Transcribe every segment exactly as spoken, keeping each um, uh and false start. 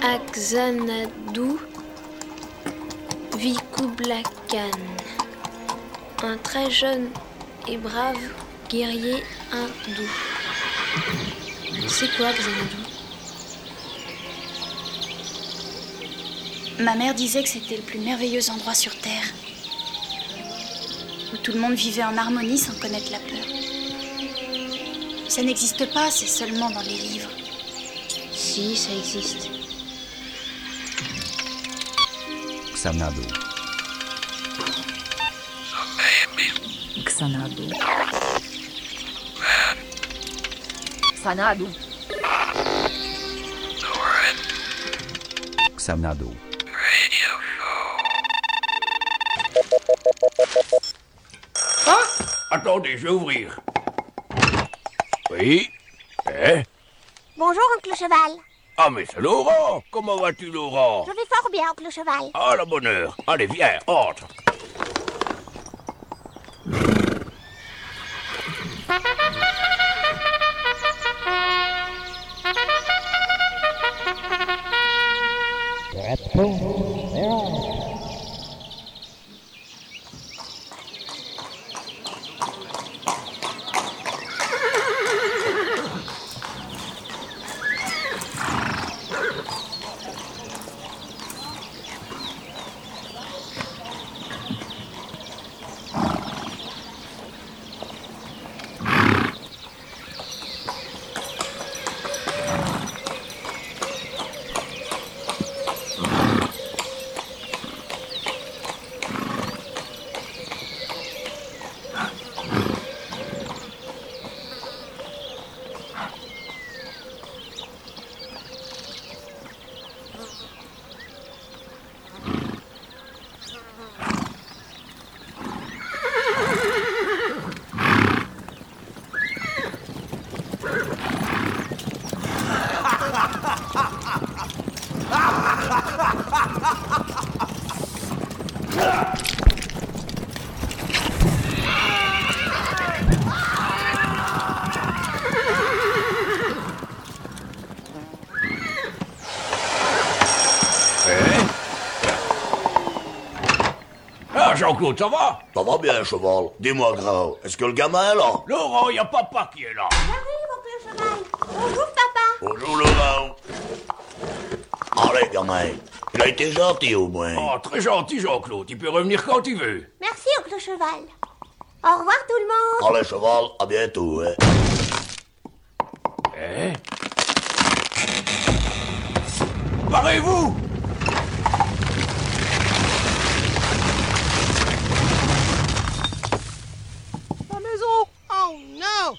Akxanadu vit Kublai Khan, un très jeune et brave guerrier hindou. C'est quoi Xanadu? Ma mère disait que c'était le plus merveilleux endroit sur Terre, où tout le monde vivait en harmonie sans connaître la peur. Ça n'existe pas, c'est seulement dans les livres. Si, ça existe. Xanadu. Xanadu. Xanadu. Xanadu. Ah! Attendez, je vais ouvrir. Oui? Eh? Bonjour, oncle Cheval. Ah, mais c'est Laurent! Comment vas-tu, Laurent? Je vais fort bien, oncle Cheval. Ah, la bonne heure. Allez, viens, entre. Jean-Claude, ça va? Ça va bien, cheval. Dis-moi, grand, est-ce que le gamin est là? Laurent, il y a papa qui est là. J'arrive, oncle Cheval. Bonjour, papa. Bonjour, Laurent. Allez, gamin. Il a été gentil, au moins. Oh, très gentil, Jean-Claude. Il peut revenir quand il veut. Merci, oncle Cheval. Au revoir, tout le monde. Allez, cheval, à bientôt, hein. Eh? Parez-vous! Oh non!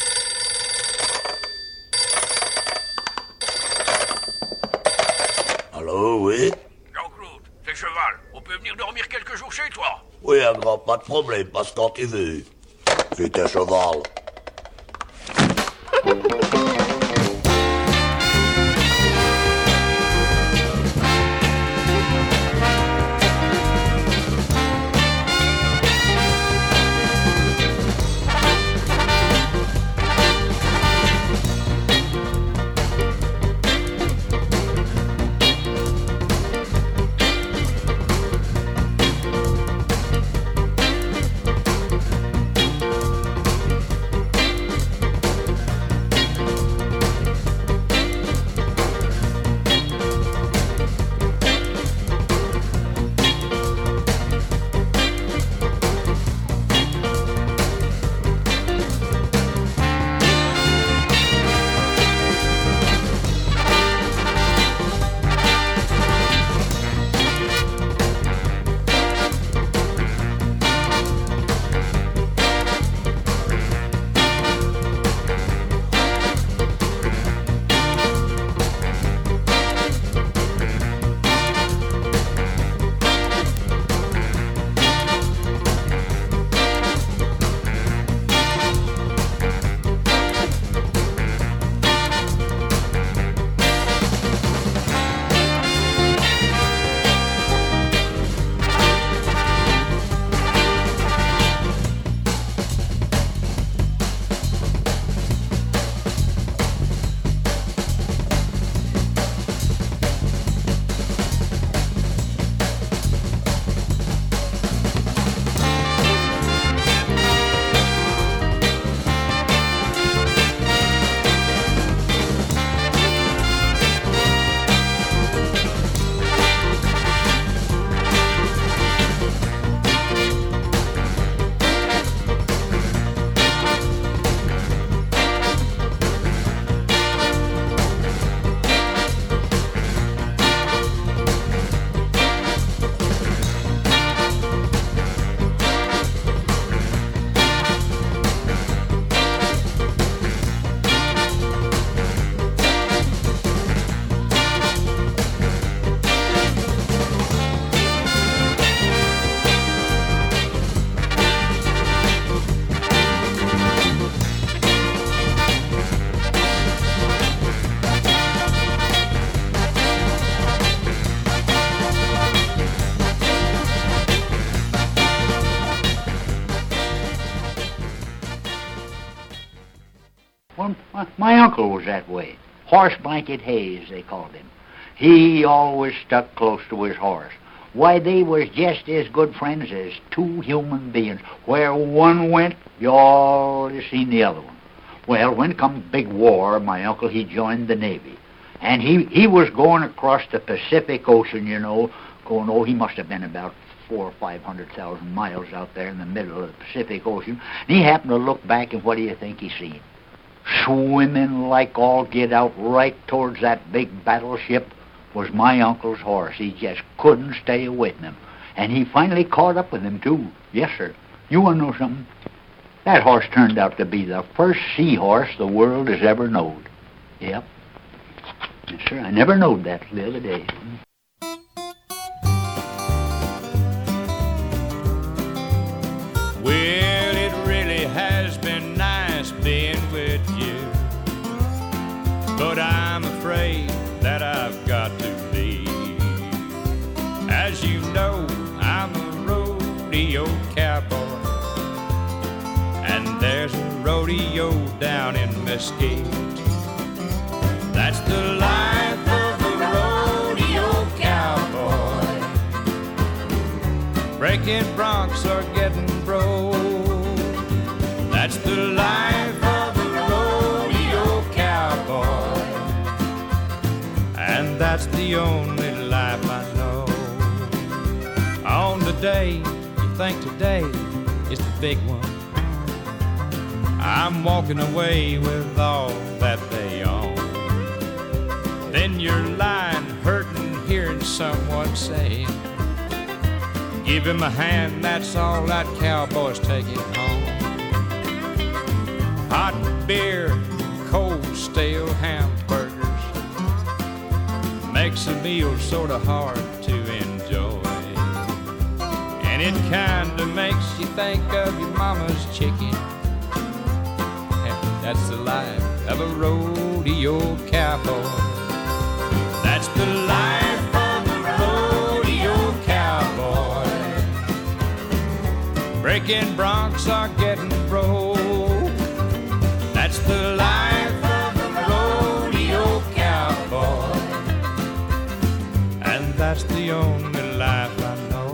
Allô, oui? Jean-Claude, c'est Cheval. On peut venir dormir quelques jours chez toi? Oui, un grand, pas de problème, passe quand tu veux. C'est un cheval. Well, my, my uncle was that way. Horse blanket Hayes, they called him. He always stuck close to his horse. Why, they was just as good friends as two human beings. Where one went, you always seen the other one. Well, when come big war, my uncle, he joined the Navy. And he, he was going across the Pacific Ocean, you know, going, oh, he must have been about four or five hundred thousand miles out there in the middle of the Pacific Ocean. And he happened to look back, and what do you think he seen? Swimming like all get out right towards that big battleship was my uncle's horse. He just couldn't stay away from him. And he finally caught up with him, too. Yes, sir. You want to know something? That horse turned out to be the first seahorse the world has ever known. Yep. Yes, sir. I never knowed that the other day. Well, it really has been nice being with you, but I'm afraid that I've got to leave. As you know, I'm a rodeo cowboy, and there's a rodeo down in Mesquite. That's the life of a rodeo cowboy. Breaking broncs are getting broke. That's the life of a rodeo cowboy, and that's the only life I know. On the day you think today is the big one, I'm walking away with all that they own. Then you're lying hurting, hearing someone say, give him a hand, that's all that cowboy's taking home. Hot beer, cold stale hamburgers makes a meal sort of hard to enjoy. And it kinda makes you think of your mama's chicken. That's the life of a rodeo cowboy. That's the life of a rodeo cowboy. Breaking broncs are getting broke. That's the life of a rodeo cowboy, and that's the only life I know.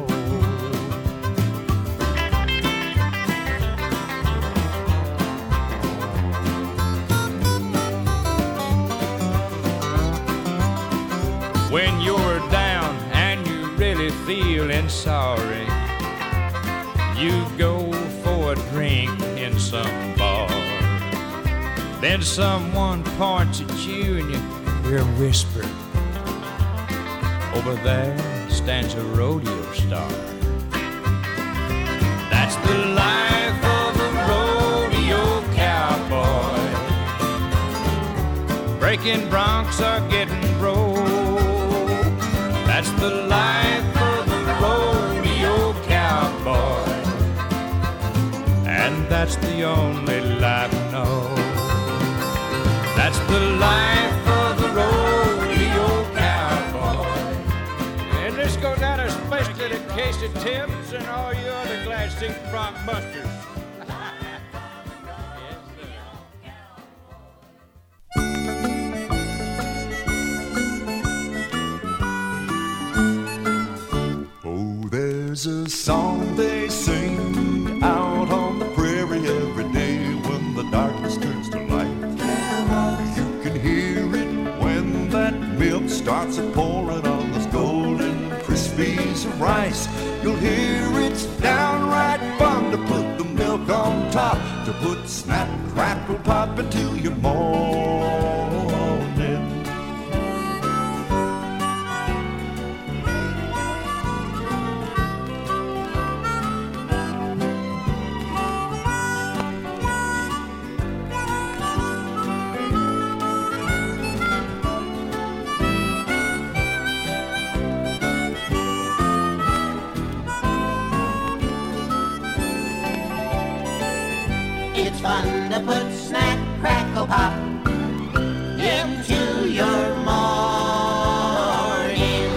When you're down and you're really feeling sorry, you go for a drink in some bar. Then someone points at you and you hear a whisper, over there stands a rodeo star. That's the life of a rodeo cowboy. Breaking broncs are getting broke. That's the life of a rodeo cowboy, and that's the only life I know. That's the life of a rodeo cowboy. And this goes out especially to Casey Timms and all you other Glass Six Bronc busters. There's a song they sing out on the prairie every day when the darkness turns to light. You can hear it when that milk starts a pouring on those golden crispies of rice. You'll hear it's downright fun to put the milk on top, to put snap, crackle, pop into your morning. It's fun to put snack, crackle, pop into your morning.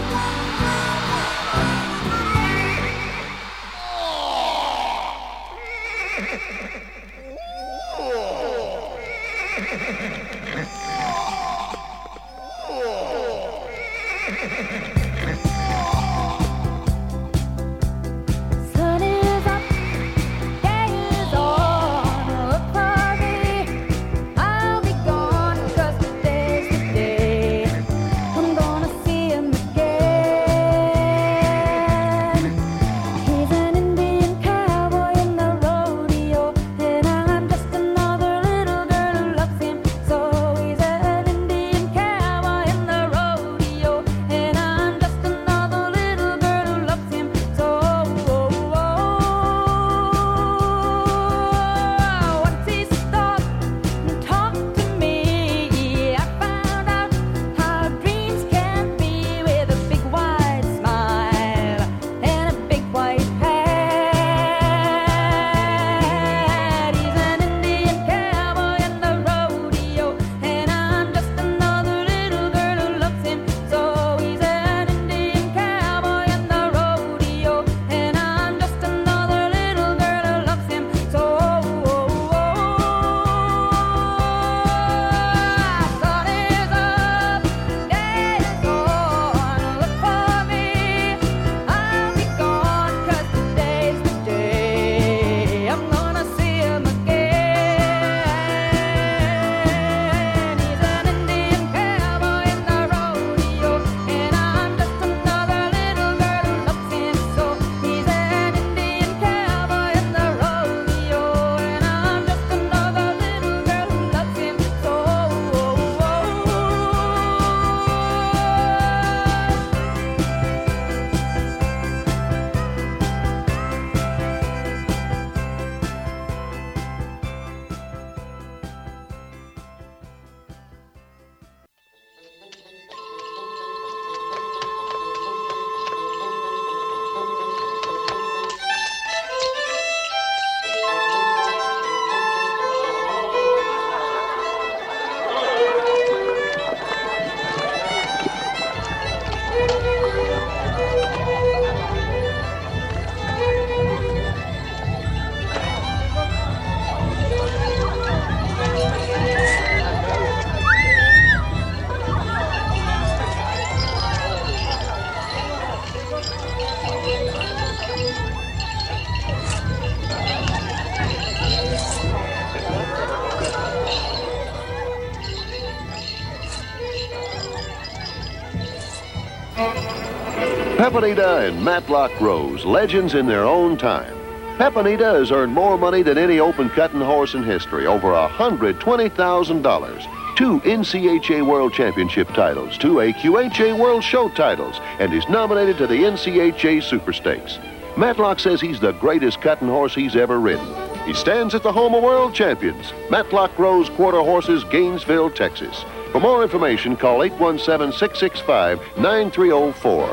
Pepinita and Matlock Rose, legends in their own time. Pepinita has earned more money than any open cutting horse in history, over one hundred twenty thousand dollars. Two N C H A World Championship titles, two A Q H A World Show titles, and is nominated to the N C H A Super Stakes. Matlock says he's the greatest cutting horse he's ever ridden. He stands at the home of world champions, Matlock Rose Quarter Horses, Gainesville, Texas. For more information, call eight one seven, six six five, nine three zero four.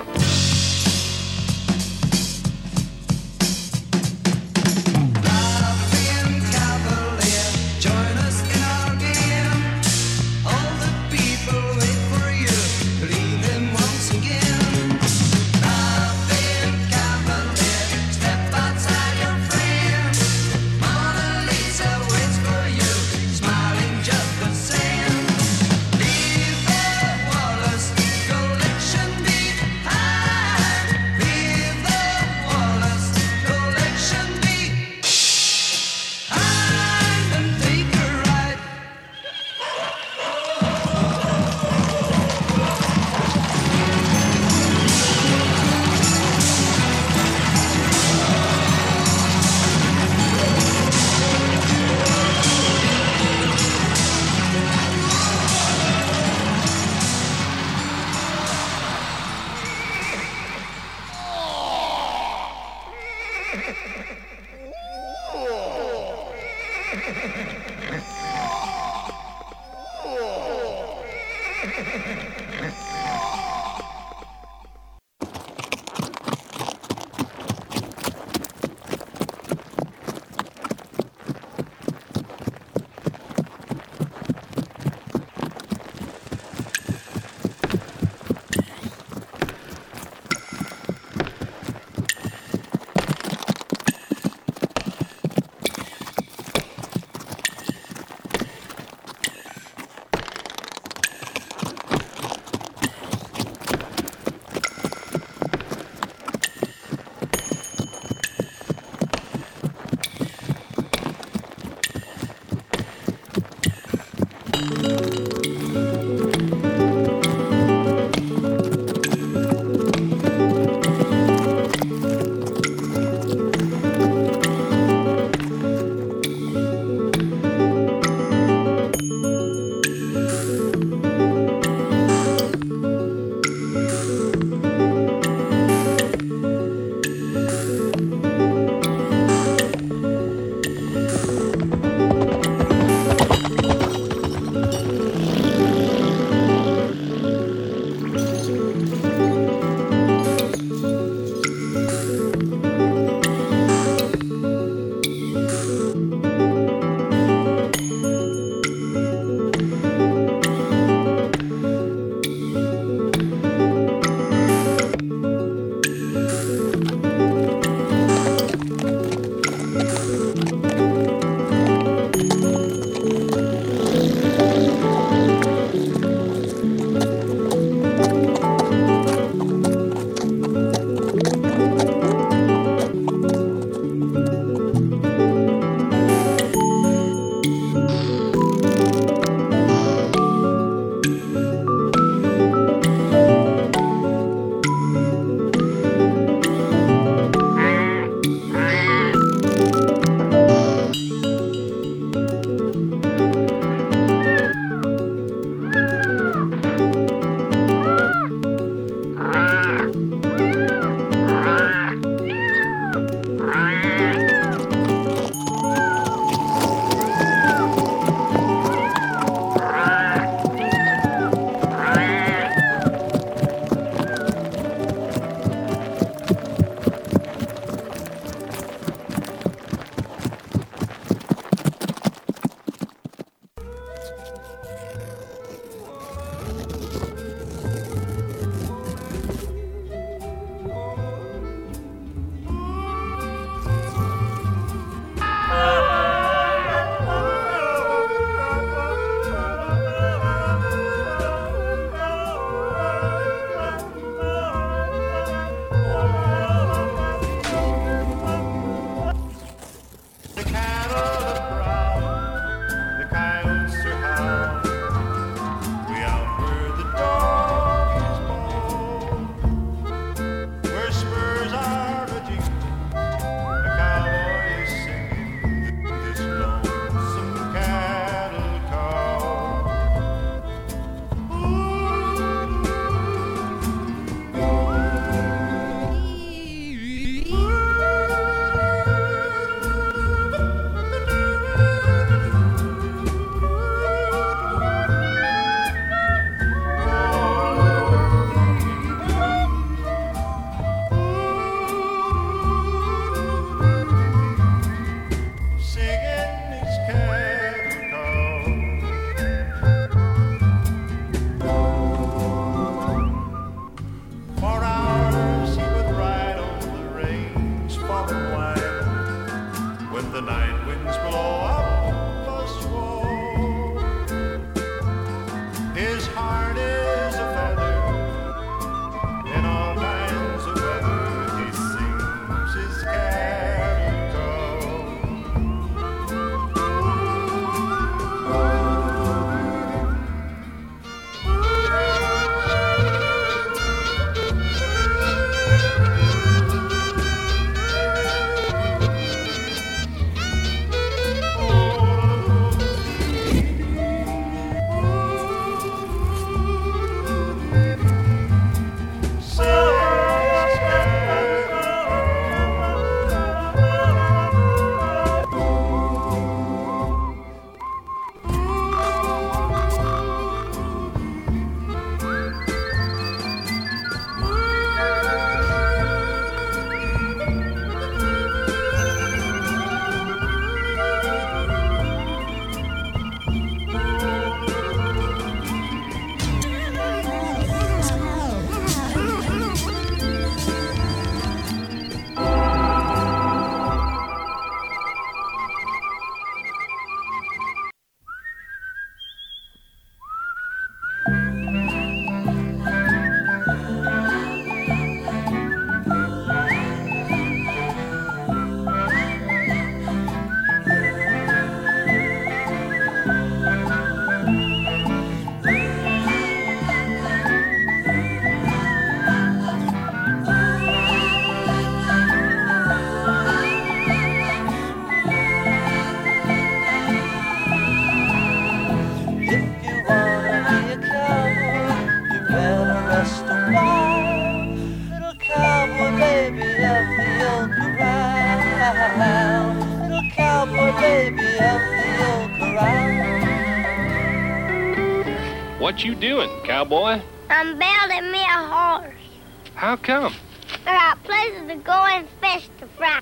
What you doing, cowboy? I'm building me a horse. How come? I got places to go and fish to fry.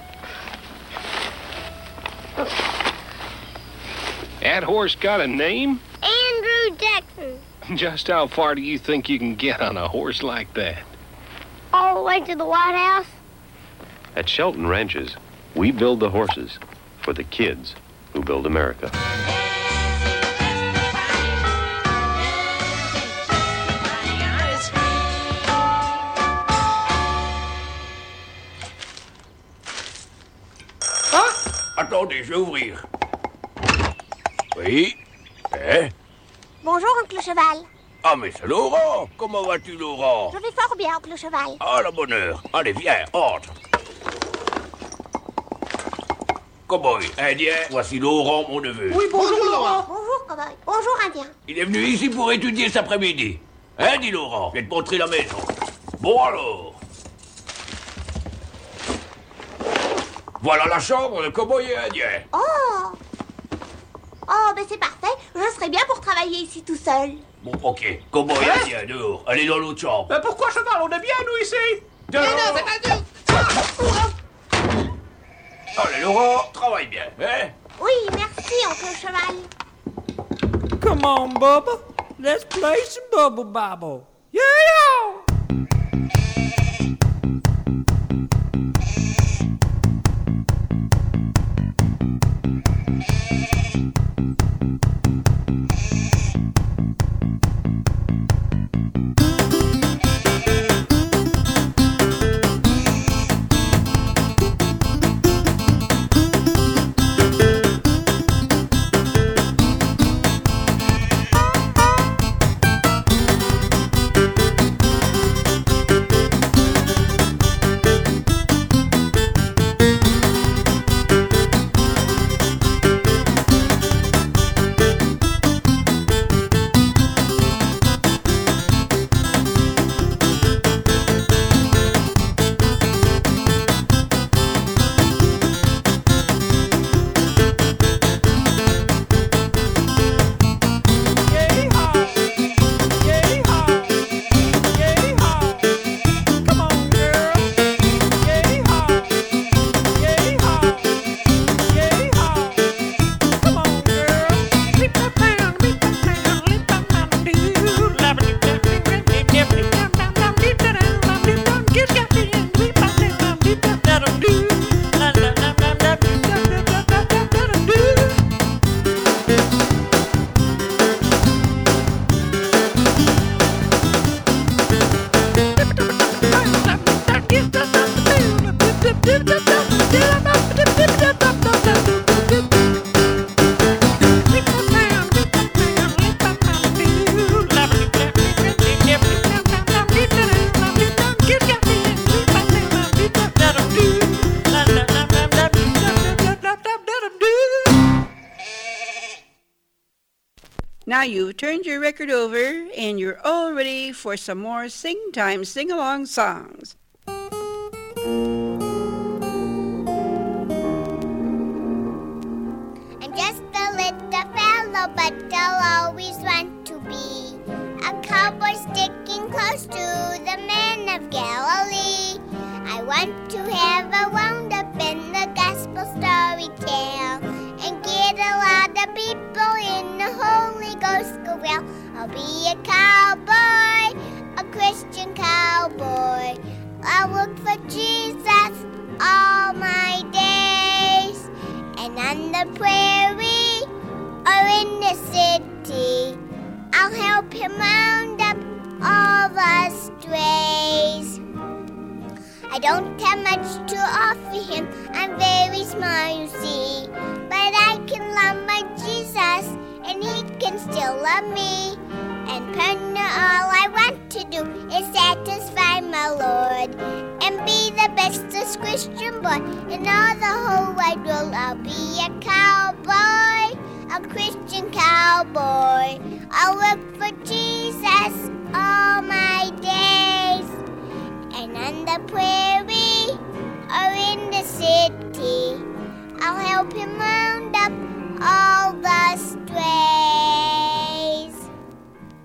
That horse got a name? Andrew Jackson. Just how far do you think you can get on a horse like that? All the way to the White House. At Shelton Ranches, we build the horses for the kids who build America. Attendez, je vais ouvrir. Oui? Eh? Bonjour, oncle Cheval. Ah, mais c'est Laurent! Comment vas-tu, Laurent? Je vais fort bien, oncle Cheval. Ah, la bonne heure. Allez, viens, entre. Cowboy, Indien, voici Laurent, mon neveu. Oui, bonjour, bonjour Laurent. Bonjour, cowboy. Bonjour, Indien. Il est venu ici pour étudier cet après-midi. Hein, dit Laurent? Je vais te montrer la maison. Bon, alors. Voilà la chambre de cowboy et indien. Oh! Oh, ben c'est parfait. Je serais bien pour travailler ici tout seul. Bon, ok. Cowboy et indien, dehors. Allez dans l'autre chambre. Mais pourquoi cheval? On est bien, nous, ici. Dehors. Mais non, c'est pas dur. Allez, Laurent, travaille bien, hein? Oui, merci, oncle Cheval. Come on, Bubba. Let's play some Bubble Bobble. Yeah! Now you've turned your record over and you're all ready for some more Sing Time sing-along songs. I'm just a little fellow, but I'll always want to be a cowboy sticking close to the men of Galilee. I want to have a wound up in the gospel story tale and get a lot of people in the Holy Ghost go well. I'll be a cowboy, a Christian cowboy. I'll look for Jesus all my days. And on the prairie or in the city, I'll help him round up all the strays. I don't have much to offer him, I'm very small, you see. But I can love my Jesus, and he can still love me. And partner, all I want to do is satisfy my Lord and be the bestest Christian boy in all the whole wide world. I'll be a cowboy, a Christian cowboy. I'll look for Jesus all my days. And on the prairie or in the city, I'll help him round up all the strays.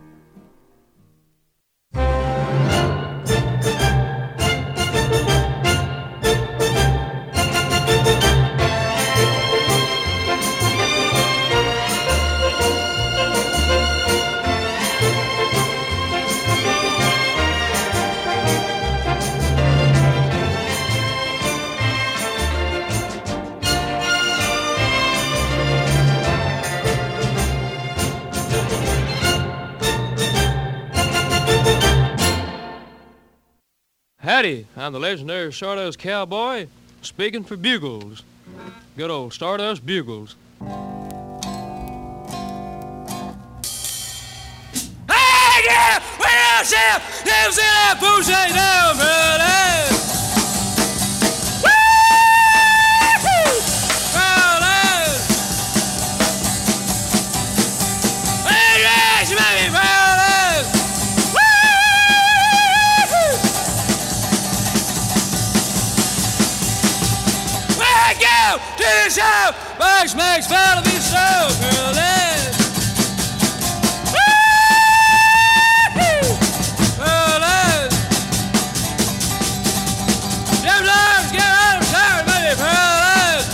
Howdy, I'm the legendary Stardust Cowboy, speaking for Bugles. Good old Stardust Bugles. Hey, yeah! Where else, yeah? Never seen that push down, brother! To the show, Bugs makes fun of these shows, girl. Jim Jones, get out of town, baby, fellas.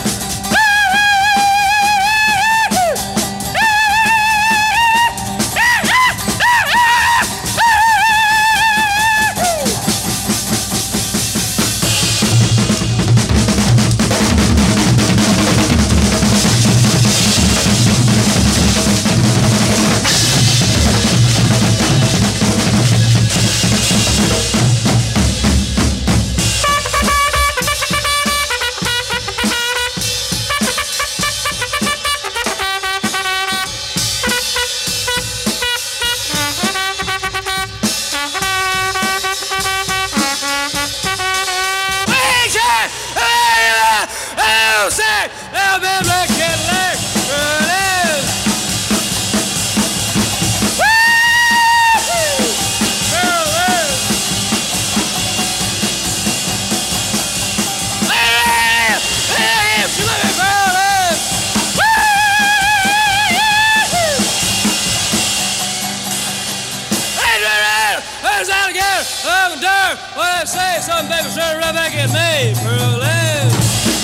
Some baby trying to run back at me, Pearl.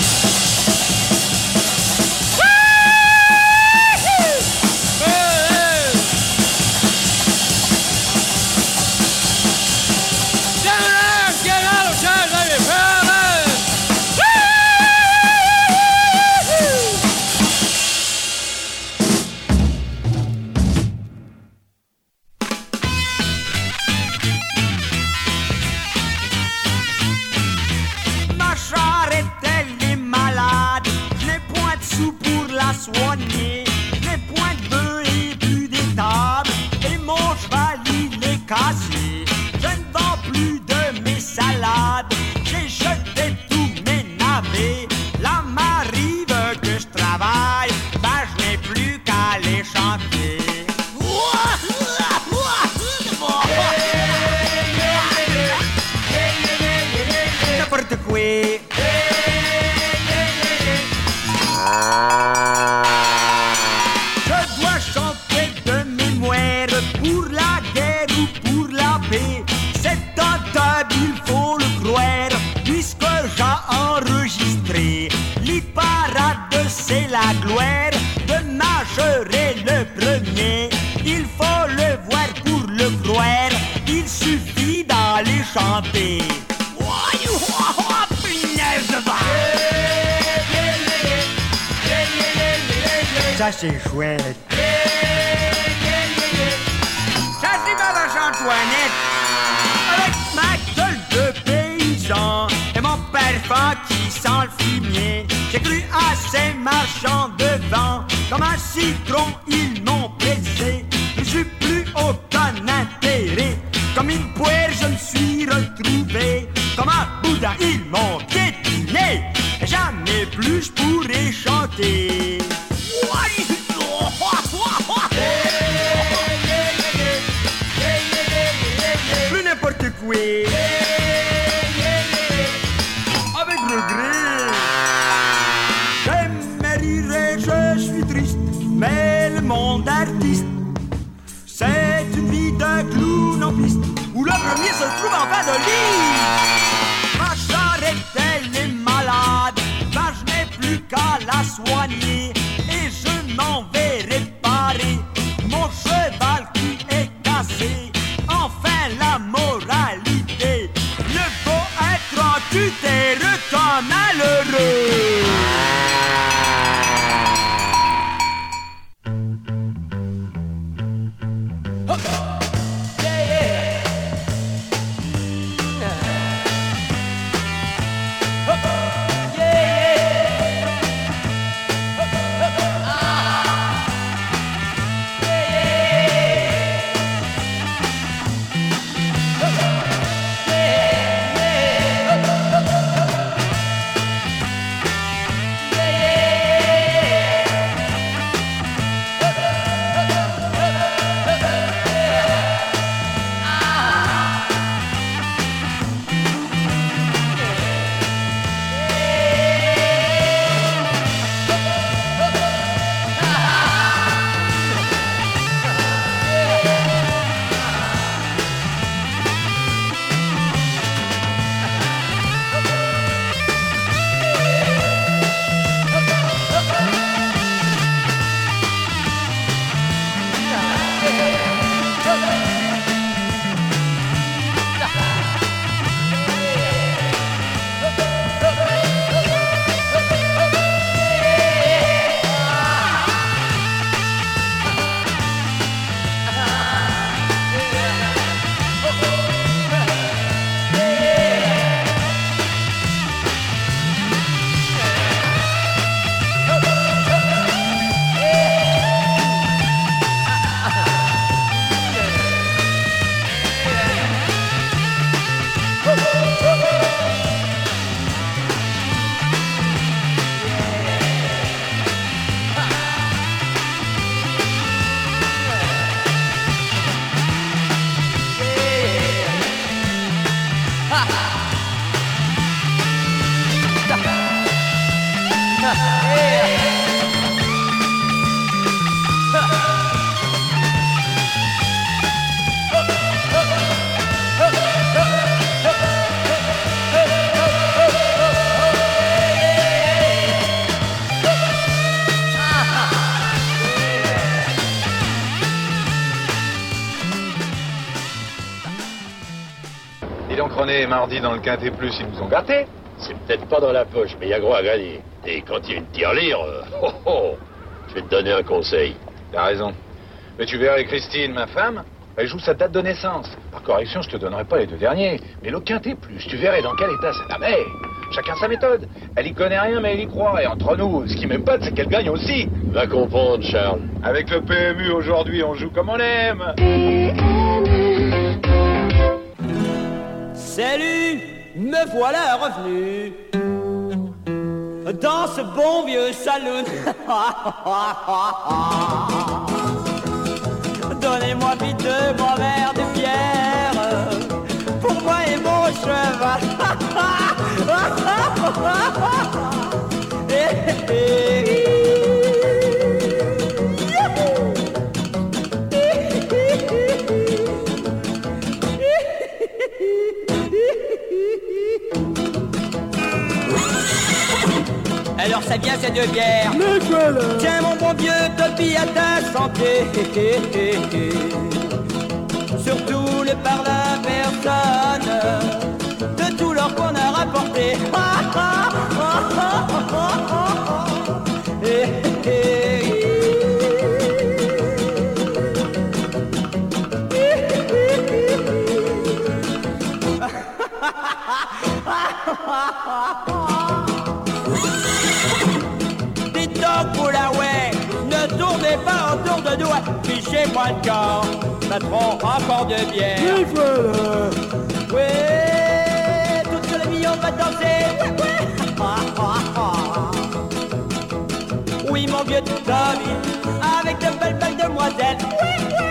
soigné, les points de bœuf et plus d'étables, et mon cheval il est cassé. Je ne vends plus de mes salades, j'ai jeté tous mes navets. Là m'arrive que je travaille, ben je n'ai plus qu'à les chanter. N'importe quoi. Je dois chanter de mémoire pour la guerre ou pour la paix. C'est tentable, il faut le croire, puisque j'ai enregistré l'hyparade, c'est la gloire. Demain je serai le premier. Il faut le voir pour le croire. Il suffit d'aller chanter. Ça c'est chouette. Ça c'est ma vache Antoinette. Avec ma gueule de paysan et mon parfum qui sent le fumier, j'ai cru à ces marchands de vent. Comme un citron ils m'ont pressé. Je n'ai plus aucun intérêt. Comme une poire je me suis retrouvé. Comme un boudin ils m'ont piétiné. Jamais plus je pourrai chanter. Plus n'importe quoi. Avec regret. J'aimerais rire, je suis triste, mais le monde artiste, c'est une vie de clown en piste, où le premier se trouve en fin de lit. Ma charrette, elle est malade, ben je n'ai plus qu'à la soigner, et je m'en vais réparer mon cheval qui est cassé. Enfin la moralité, ne faut être en tutère qu'un malheureux. René et Mardi dans le Quintet Plus, ils nous ont gâtés. C'est peut-être pas dans la poche, mais il y a gros à gagner. Et quand il y a une tirelire, euh, oh, oh, je vais te donner un conseil. T'as raison. Mais tu verrais Christine, ma femme, elle joue sa date de naissance. Par correction, je te donnerai pas les deux derniers. Mais le Quintet Plus, tu verrais dans quel état ça la met. Chacun sa méthode. Elle y connaît rien, mais elle y croit. Et entre nous, ce qui m'épate, c'est qu'elle gagne aussi. Va comprendre, Charles. Avec le P M U aujourd'hui, on joue comme on aime. Salut, me voilà revenu dans ce bon vieux saloon. Donnez-moi vite deux grands verres de bière pour moi et mon cheval. Alors ça vient ces deux bières. Tiens mon bon vieux Topi à ta santé. Surtout le par la personne de tout l'or qu'on a rapporté. Dites donc, Boulaway, ne tournez pas autour de nous. Fichez-moi le camp, patron, encore de bière. Oui, voilà. Oui, toute la vie on va danser. Ouais, ouais. Oui, mon vieux Tommy, avec de belles belles demoiselles. Oui, oui.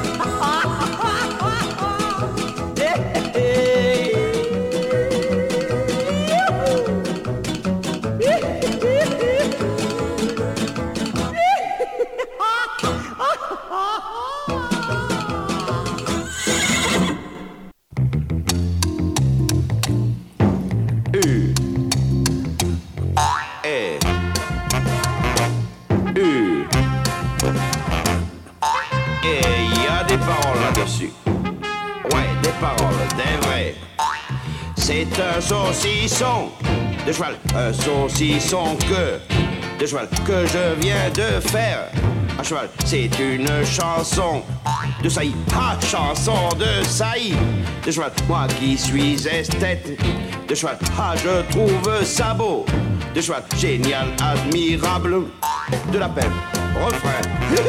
C'est un saucisson de cheval, un saucisson que de cheval que je viens de faire. À cheval, c'est une chanson de saillie, ah, chanson de saillie de cheval. Moi qui suis esthète de cheval, ah, je trouve ça beau de cheval, génial, admirable, de la peine, refrain.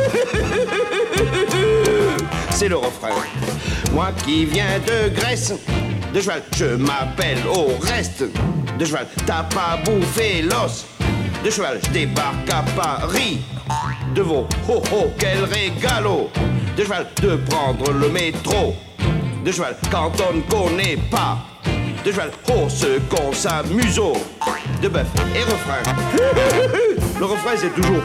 C'est le refrain. Moi qui viens de Grèce de cheval, je m'appelle au reste de cheval, t'as pas bouffé l'os de cheval, je débarque à Paris de vos oh oh quel régalo de cheval de prendre le métro de cheval quand on ne connaît pas de cheval, oh ce qu'on s'amuse de bœuf et refrain. Le refrain c'est toujours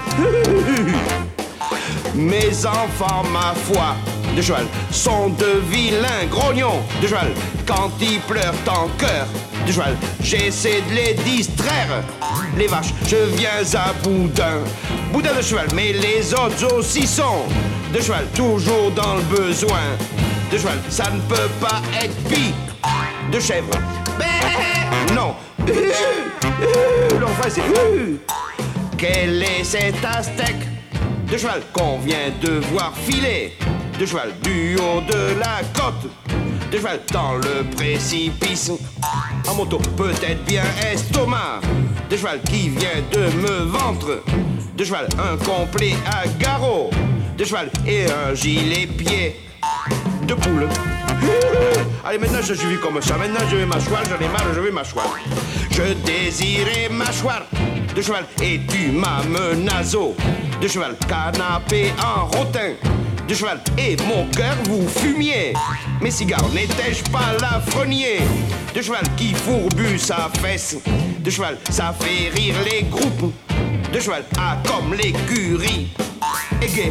mes enfants, ma foi de cheval sont de vilains grognons de cheval. Quand ils pleurent en cœur de cheval, j'essaie de les distraire. Les vaches, je viens à boudin, boudin de cheval, mais les autres aussi sont de cheval, toujours dans le besoin de cheval. Ça ne peut pas être pis de chèvre. Non. Le refrain c'est quel est cet aztèque de cheval qu'on vient de voir filer de cheval du haut de la côte de cheval dans le précipice en moto, peut-être bien estomac de cheval qui vient de me ventre de cheval, un complet à garrot de cheval et un gilet pied de poule. Allez, maintenant je suis vu comme ça, maintenant je vais m'asseoir, j'en ai marre, je vais m'asseoir. Je désirais m'asseoir de cheval et tu m'as menaço de cheval, canapé en rotin de cheval et mon cœur vous fumiez. Mes cigares n'étais-je pas l'affrenier de cheval qui fourbue sa fesse de cheval, ça fait rire les groupes de cheval, ah comme l'écurie et gay.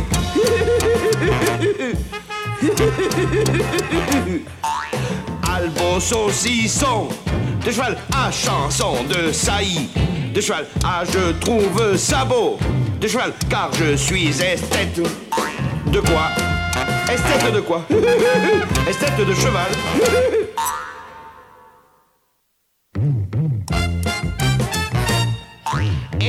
Albo saucisson de cheval, à chanson de saillie de cheval, ah je trouve ça beau de cheval, car je suis esthète. De quoi? Esthète de quoi? Esthète de cheval.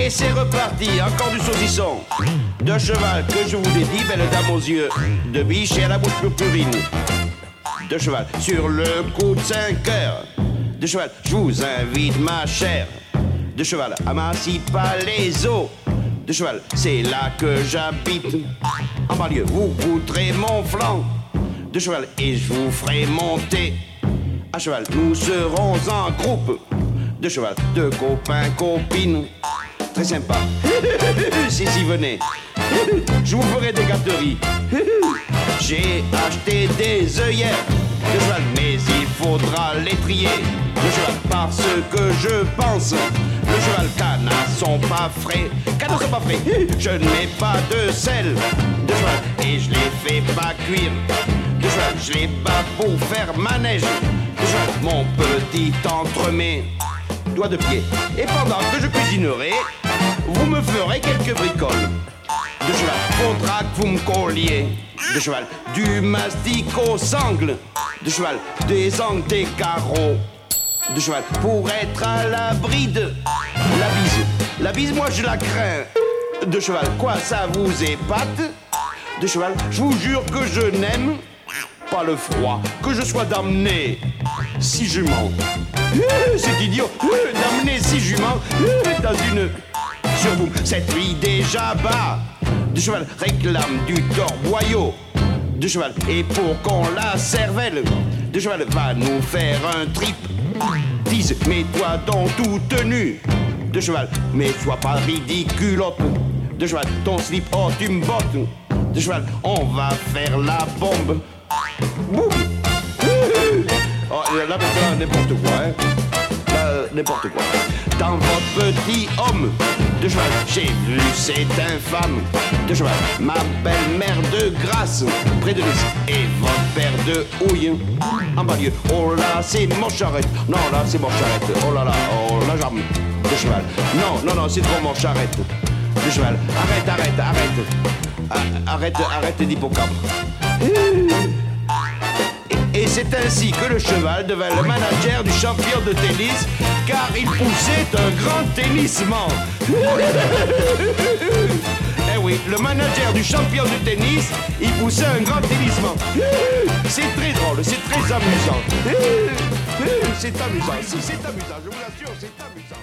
Et c'est reparti, encore du saucisson. De cheval que je vous dédie, belle dame aux yeux de biche et à la bouche purpurine. De cheval sur le coup de cinq heures. De cheval, je vous invite ma chère. De cheval à Massy-Palaiseau. De cheval, c'est là que j'habite. En banlieue, vous goûterez mon flanc. De cheval, et je vous ferai monter. À cheval, nous serons en groupe. De cheval, de copains, copines. Très sympa. Si, si, venez. Je vous ferai des gâteries. J'ai acheté des œillères de cheval, mais il faudra les trier. Le cheval, parce que je pense, le cheval, canards sont pas frais. Canards sont pas frais. Je ne mets pas de sel de cheval et je les fais pas cuire. De cheval, je les bats pour faire manège. De cheval, mon petit entremets. Doigt de pied. Et pendant que je cuisinerai, vous me ferez quelques bricoles. De cheval, faudra que vous me colliez. De cheval, du mastic aux sangles. De cheval, des angles, des carreaux. De cheval, pour être à l'abri de la bise. La bise, moi je la crains. De cheval, quoi, ça vous épate? De cheval, je vous jure que je n'aime pas le froid, que je sois damné si jument. C'est idiot d'amener six juments dans une sur vous. Cette fille déjà bas de cheval réclame du torboyau de cheval. Et pour qu'on la cervelle de cheval va nous faire un trip. Dise, mets-toi dans tout tenue de cheval, mais sois pas ridiculote de cheval. Ton slip, oh tu me bottes de cheval. On va faire la bombe. Boum. Oh, là maintenant n'importe quoi, hein. Là, n'importe quoi. Dans votre petit homme de cheval, j'ai vu cet infâme de cheval. Ma belle-mère de Grasse, près de Nice, et votre père de Houille, en banlieue. Oh là, c'est mon charrette. Non, là, c'est mon charrette. Oh là là, oh la jambe de cheval. Non, non, non, c'est trop mon charrette de cheval. Arrête, arrête, arrête. Arrête, arrête d'hippocampe. Et c'est ainsi que le cheval devint le manager du champion de tennis, car il poussait un grand tennissement. Eh oui, le manager du champion de tennis, il poussait un grand tennissement. C'est très drôle, c'est très amusant. C'est amusant, si c'est amusant, je vous l'assure, c'est amusant.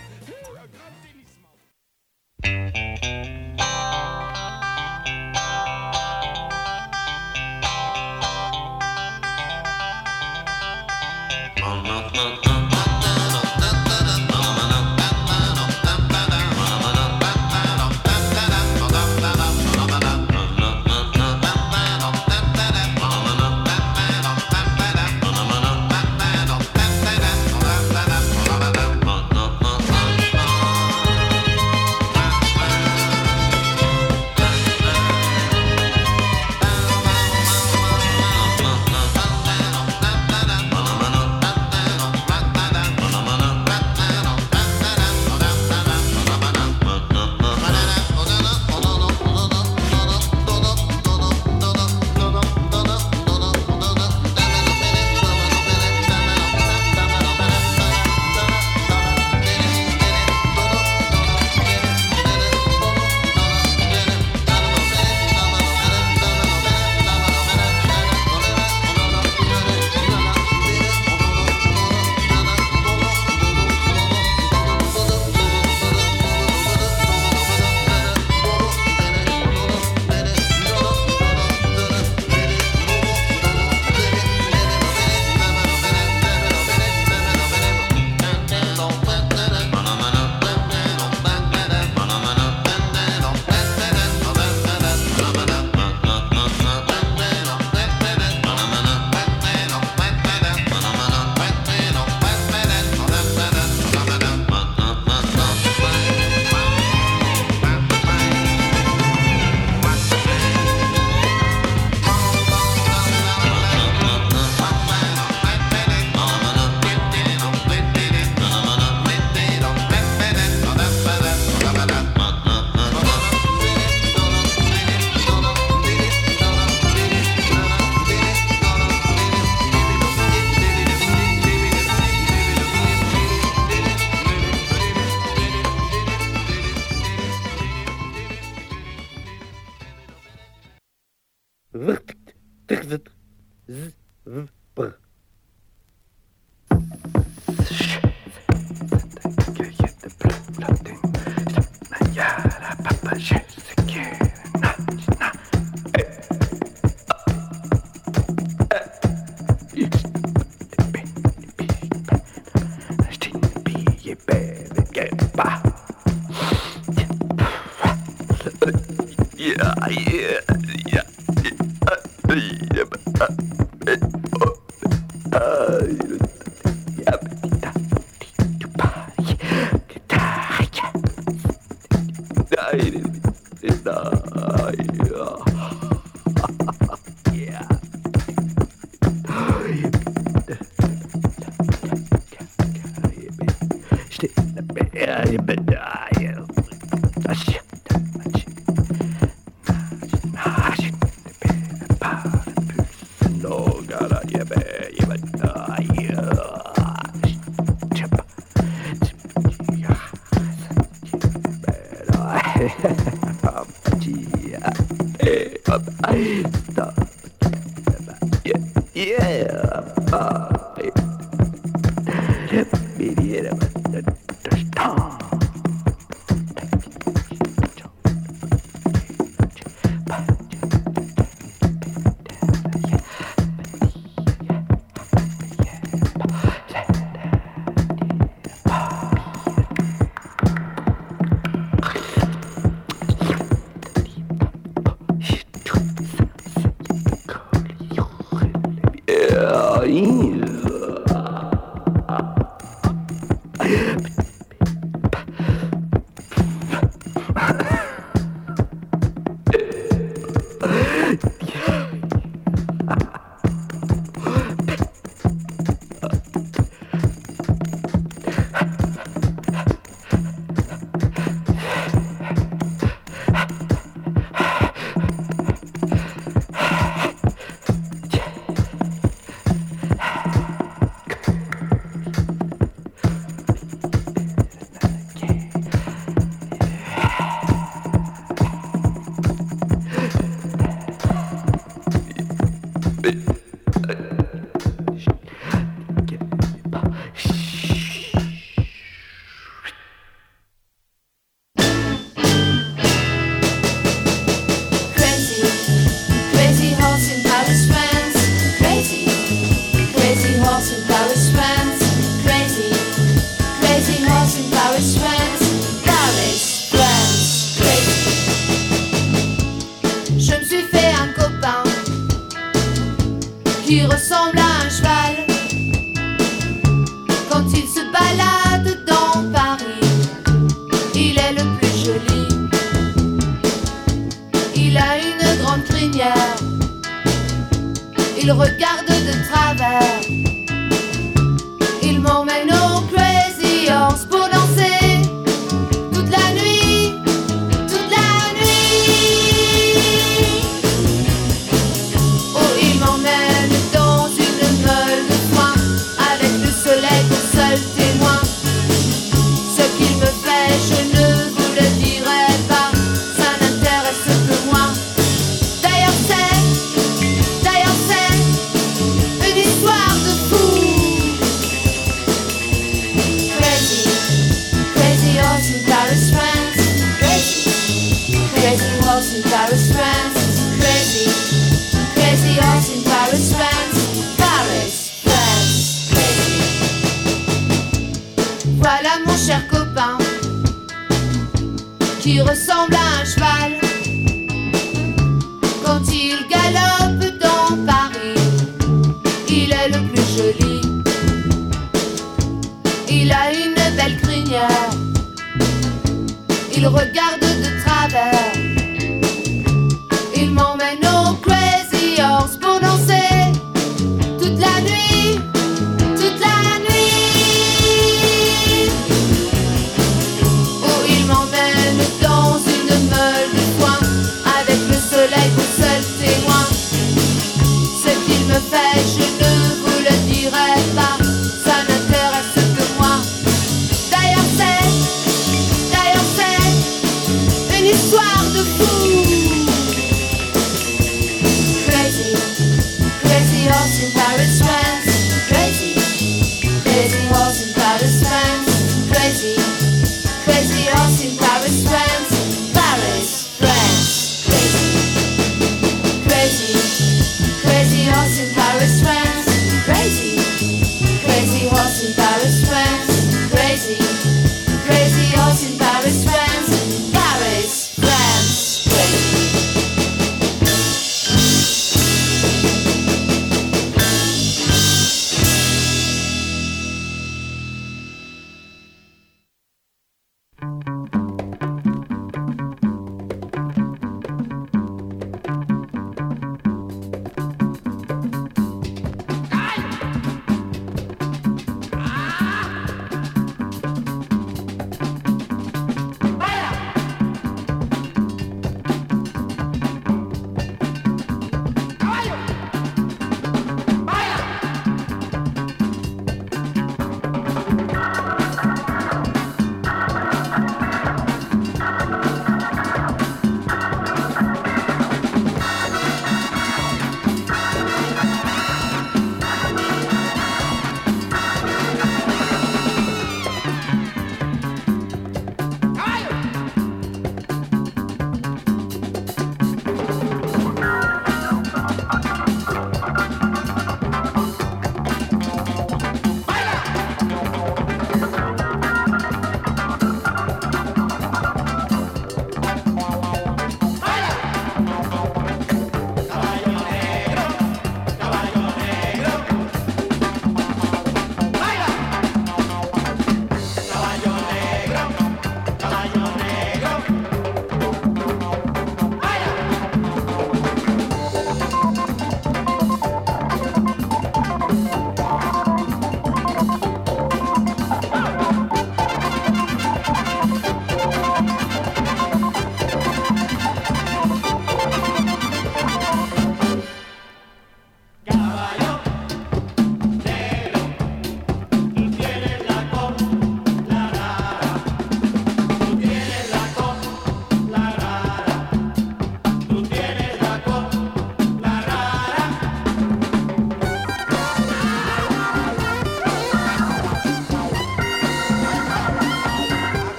Dans une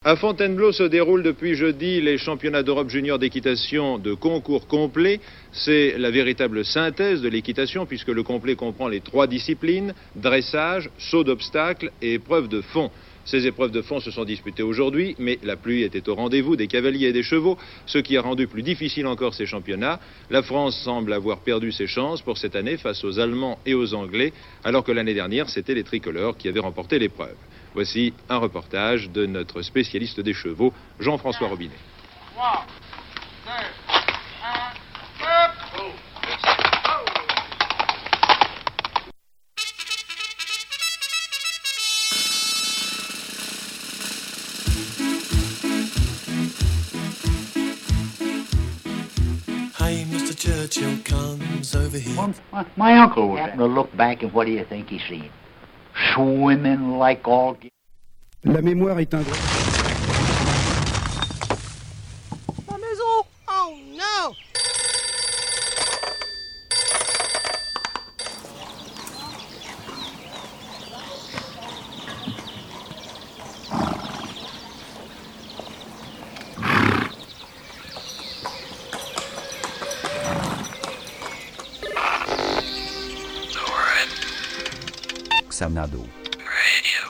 À Fontainebleau se déroulent depuis jeudi les championnats d'Europe junior d'équitation de concours complet. C'est la véritable synthèse de l'équitation puisque le complet comprend les trois disciplines, dressage, saut d'obstacles et épreuves de fond. Ces épreuves de fond se sont disputées aujourd'hui, mais la pluie était au rendez-vous des cavaliers et des chevaux, ce qui a rendu plus difficile encore ces championnats. La France semble avoir perdu ses chances pour cette année face aux Allemands et aux Anglais, alors que l'année dernière, c'était les tricolores qui avaient remporté l'épreuve. Voici un reportage de notre spécialiste des chevaux, Jean-François Robinet. trois, deux, un, hop! Hey, Mister Churchill comes over here. Well, my, my uncle was happened to look back, and what do you think he seen? Swimming like all... La mémoire est un droit. Ma maison! Oh no! Xanadu. Radio.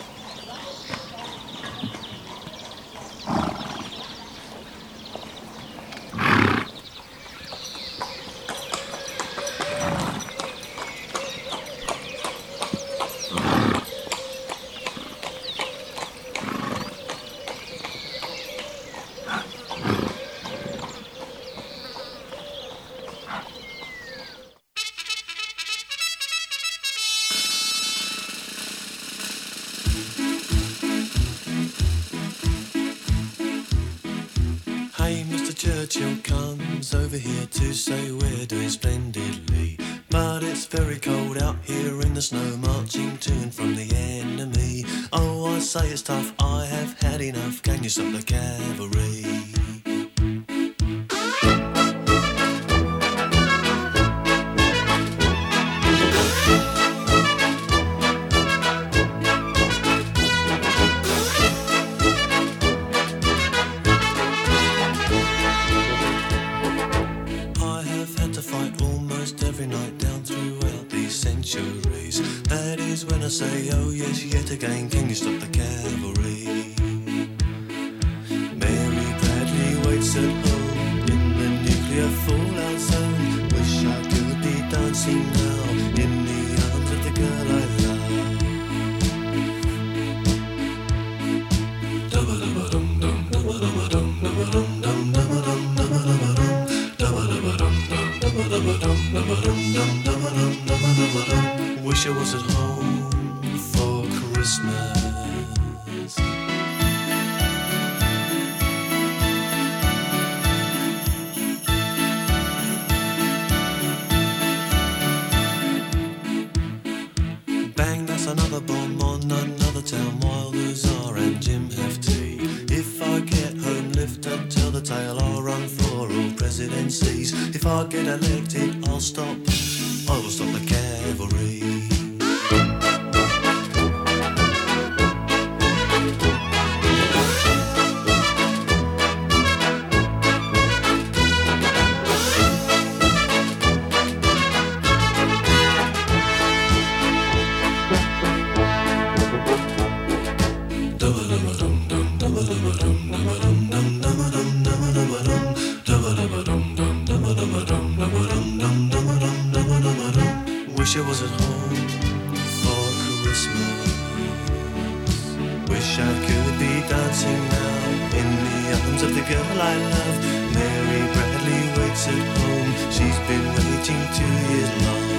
Hey, Mister Churchill comes over here to say we're doing splendidly. But it's very cold out here in the snow, marching to and from the enemy. Oh, I say it's tough, I have had enough. Can you stop the cavalry? I say, oh yes, yet again, can you stop the cavalry? Mary Bradley waits at home in the nuclear fallout zone. Wish I could be dancing now in the arms of the girl I love. Dum-ba-dum-ba-dum, dum-ba-dum-ba-dum, dum-ba-dum, dum-ba-dum, dum-ba-dum, dum-ba-dum, dum-ba-dum, dum-ba-dum, dum-ba-dum. Wish I was at home for Christmas. Bang, that's another bomb on another town. Wilders are and Jim have tea. If I get home, lift and tell the tale. I'll run for all presidencies. If I get elected, I'll stop. I will stop the cavalry. Wish I was at home for Christmas. Wish I could be dancing now in the arms of the girl I love. Mary Bradley waits at home. She's been waiting two years long.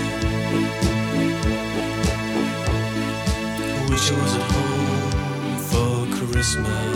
Wish I was at home for Christmas.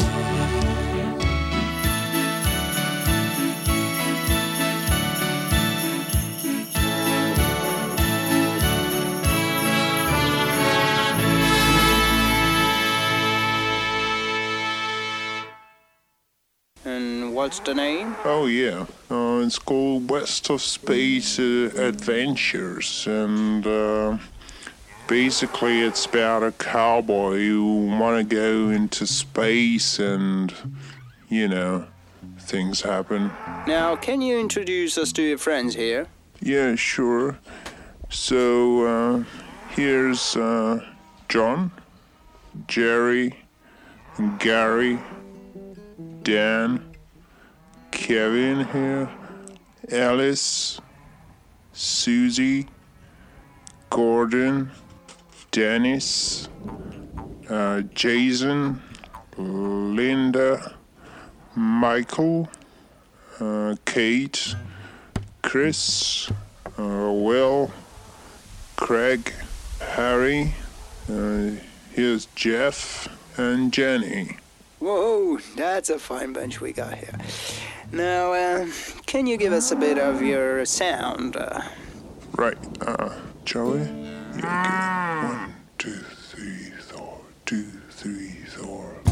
What's the name? Oh, yeah. Uh, it's called West of Space uh, Adventures. And uh, basically it's about a cowboy who want to go into space and, you know, things happen. Now, can you introduce us to your friends here? Yeah, sure. So, uh, here's uh, John, Jerry, Gary, Dan, Kevin here, Alice, Susie, Gordon, Dennis, uh, Jason, Linda, Michael, uh, Kate, Chris, uh, Will, Craig, Harry, uh, here's Jeff, and Jenny. Whoa, that's a fine bunch we got here. Now, uh, can you give us a bit of your sound? Uh... Right, uh, Joey? Yeah, okay. One, two, three, four, two, three, four.